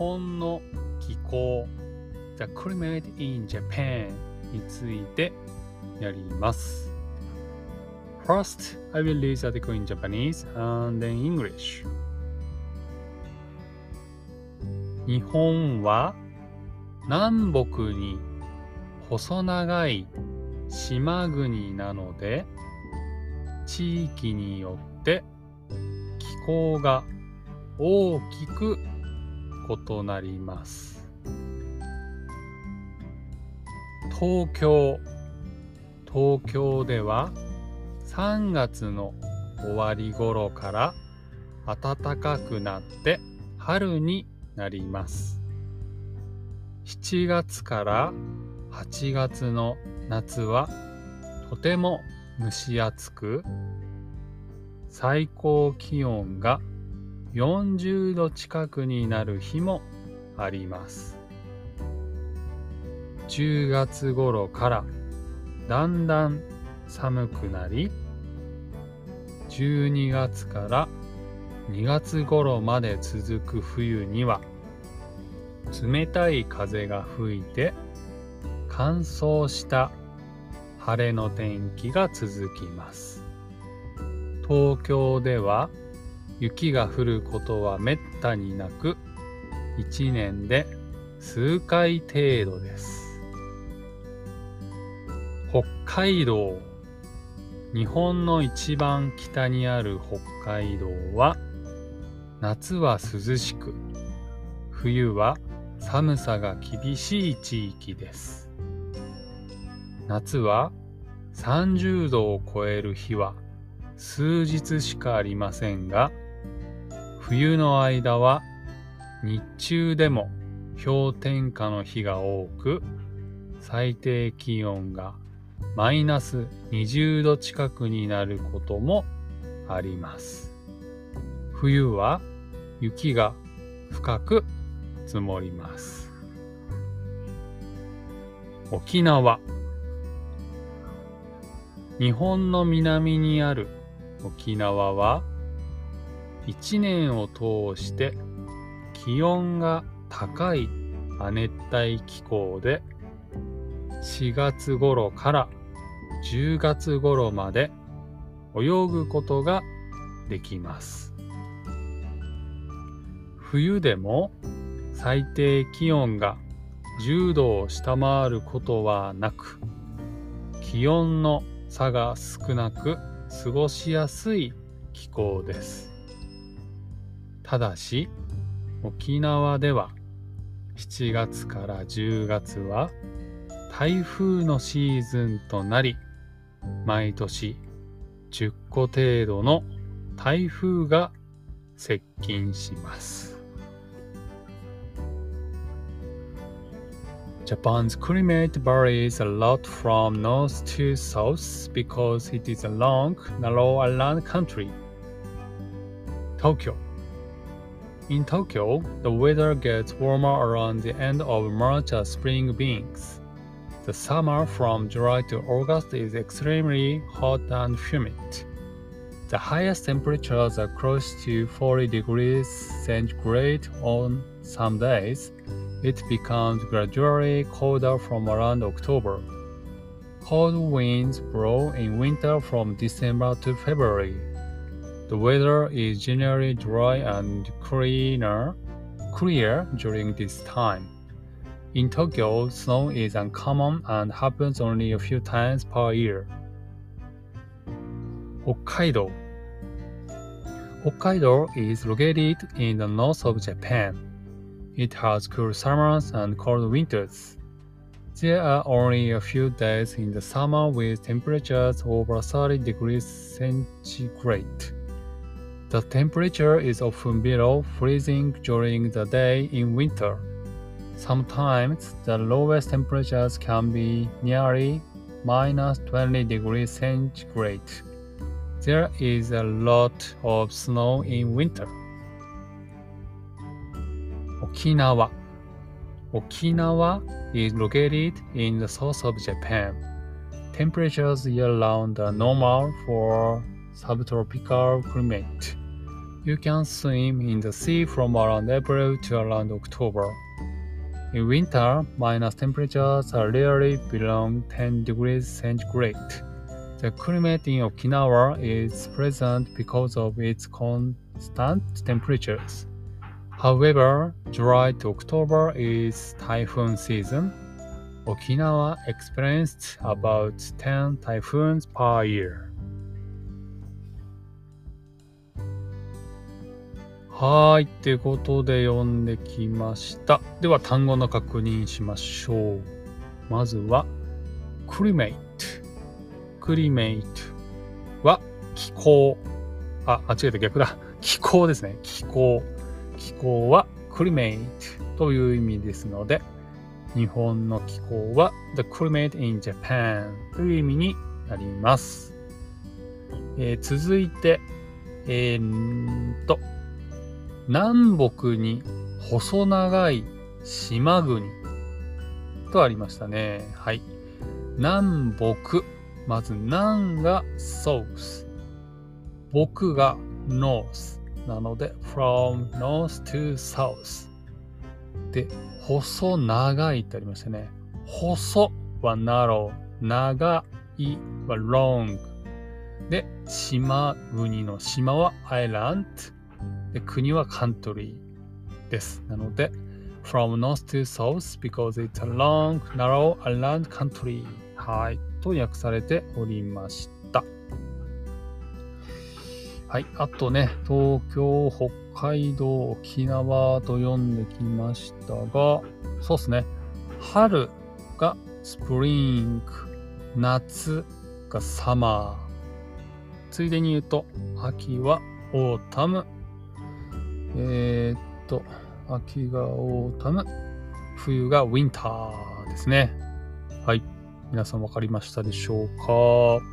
本の気候 The climate in Japan についてやります。First, I will read the article in Japanese and then English. 日本は南北に細長い島国なので、地域によって気候が大きく異なります。東京では3月の終わり頃から暖かくなって春になります。7月から8月の夏はとても蒸し暑く、最高気温が40度近くになる日もあります。10月頃からだんだん寒くなり、12月から2月頃まで続く冬には冷たい風が吹いて乾燥した晴れの天気が続きます。東京では雪が降ることはめったになく、1年で数回程度です。北海道。日本の一番北にある北海道は、夏は涼しく、冬は寒さが厳しい地域です。夏は30度を超える日は数日しかありませんが、冬の間は日中でも氷点下の日が多く、最低気温がマイナス20度近くになることもあります。冬は雪が深く積もります。沖縄。日本の南にある沖縄は1年を通して気温が高い亜熱帯気候で、4月頃から10月頃まで泳ぐことができます。冬でも最低気温が10度を下回ることはなく、気温の差が少なく過ごしやすい気候です。ただし、沖縄では7月から10月は台風のシーズンとなり、毎年10個程度の台風が接近します。Japan's climate varies a lot from north to south because it is a long, narrow island country. Tokyo. In Tokyo, the weather gets warmer around the end of March as spring begins. The summer from July to August is extremely hot and humid. The highest temperatures are close to 40 degrees centigrade on some days. It becomes gradually colder from around October. Cold winds blow in winter from December to February. The weather is generally dry and clear during this time. In Tokyo, snow is uncommon and happens only a few times per year. 北海道。北海道 is located in the north of Japan. It has cool summers and cold winters. There are only a few days in the summer with temperatures over 30 degrees centigrade. The temperature is often below freezing during the day in winter. Sometimes the lowest temperatures can be nearly minus 20 degrees centigrade. There is a lot of snow in winter. 沖縄。沖縄 is located in the south of Japan. Temperatures year-round are normal for subtropical climate. You can swim in the sea from around April to around October. In winter, minus temperatures are rarely below 10 degrees centigrade. The climate in Okinawa is pleasant because of its constant temperatures. However, July to October is typhoon season. Okinawa experienced about 10 typhoons per year. はい、ということで読んできました。では単語の確認しましょう。まずは、climate。climate は気候。間違えた、逆だ。気候ですね。気候。気候は climate という意味ですので、日本の気候は the climate in Japan という意味になります。続いて、南北に細長い島国とありましたね。はい。南北。まず南が south。北が north。なので from north to south。で、細長いってありましたね。細は narrow。長いは long。で、島国の島は island。で、国は country です。なので、from north to south because it's a long, narrow, island country はい、と訳されておりました。はい、あとね、東京、北海道、沖縄と読んできましたが、そうですね、春が spring、夏が summer、ついでに言うと、秋は autumn、秋がオータム、冬がウィンターですね。はい。皆さん分かりましたでしょうか？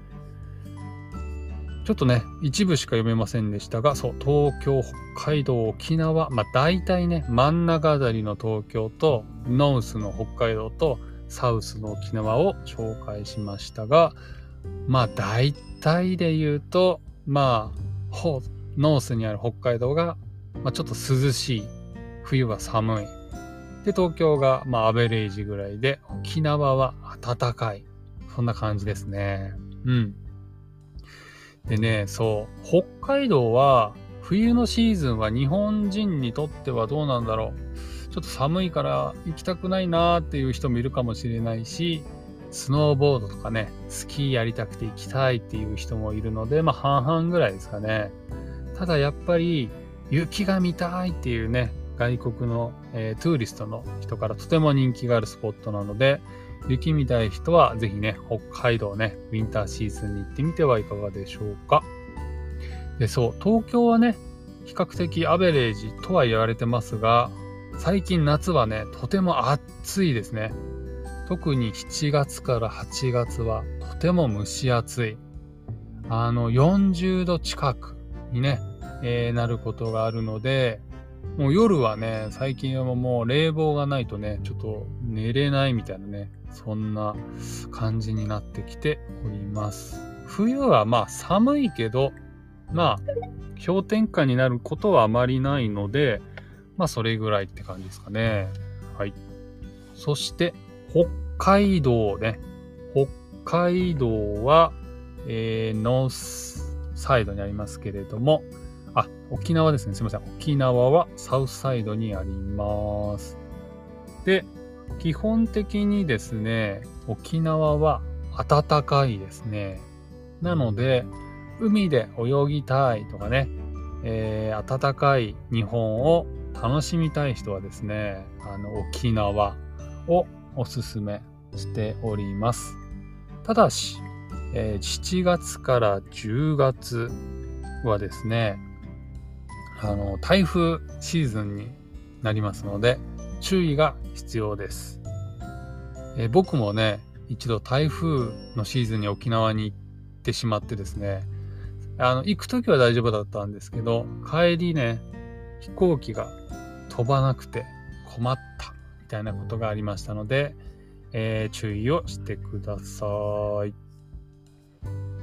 ちょっとね、一部しか読めませんでしたが、そう、東京、北海道、沖縄、大体ね、真ん中あたりの東京と、ノースの北海道と、サウスの沖縄を紹介しましたが、大体で言うと、ノースにある北海道がちょっと涼しい。冬は寒い。で、東京がアベレージぐらいで、沖縄は暖かい。そんな感じですね。うん。でね、そう、北海道は冬のシーズンは日本人にとってはどうなんだろう。ちょっと寒いから行きたくないなーっていう人もいるかもしれないし、スノーボードとかね、スキーやりたくて行きたいっていう人もいるので、半々ぐらいですかね。ただやっぱり、雪が見たいっていうね、外国の、トゥーリストの人からとても人気があるスポットなので、雪見たい人はぜひね、北海道ね、ウィンターシーズンに行ってみてはいかがでしょうか。で、そう、東京はね、比較的アベレージとは言われてますが、最近夏はね、とても暑いですね。特に7月から8月はとても蒸し暑い。40度近くにね、なることがあるので、もう夜はね、最近はもう冷房がないとね、ちょっと寝れないみたいなね、そんな感じになってきております。冬は寒いけど、氷点下になることはあまりないので、それぐらいって感じですかね。はい。そして、北海道ね。北海道は、ノースサイドにありますけれども、沖縄ですね。すみません。沖縄はサウスサイドにあります。で、基本的にですね、沖縄は暖かいですね。なので、海で泳ぎたいとかね、暖かい日本を楽しみたい人はですね、沖縄をおすすめしております。ただし、7月から10月はですね、台風シーズンになりますので、注意が必要です。僕もね、一度台風のシーズンに沖縄に行ってしまってですね、行くときは大丈夫だったんですけど、帰りね、飛行機が飛ばなくて困ったみたいなことがありましたので、注意をしてください。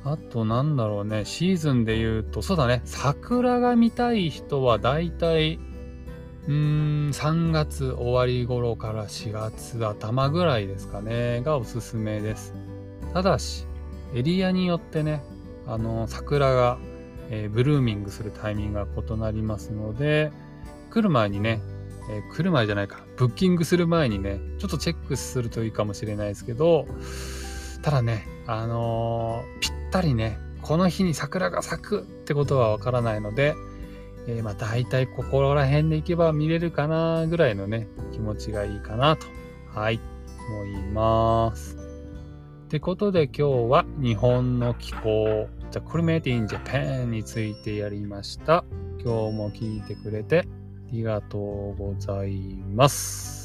あとなんだろうね、シーズンで言うと、そうだね、桜が見たい人はだいたい3月終わり頃から4月頭ぐらいですかね、がおすすめです。ただし、エリアによってね、桜が、ブルーミングするタイミングが異なりますので、来る前にね、来る前じゃないか、ブッキングする前にね、ちょっとチェックするといいかもしれないですけど、ただね、ぴったりね、この日に桜が咲くってことはわからないので、大体ここら辺で行けば見れるかなぐらいのね、気持ちがいいかなと、はい、思います。ってことで今日は日本の気候、The Climate in Japan についてやりました。今日も聞いてくれてありがとうございます。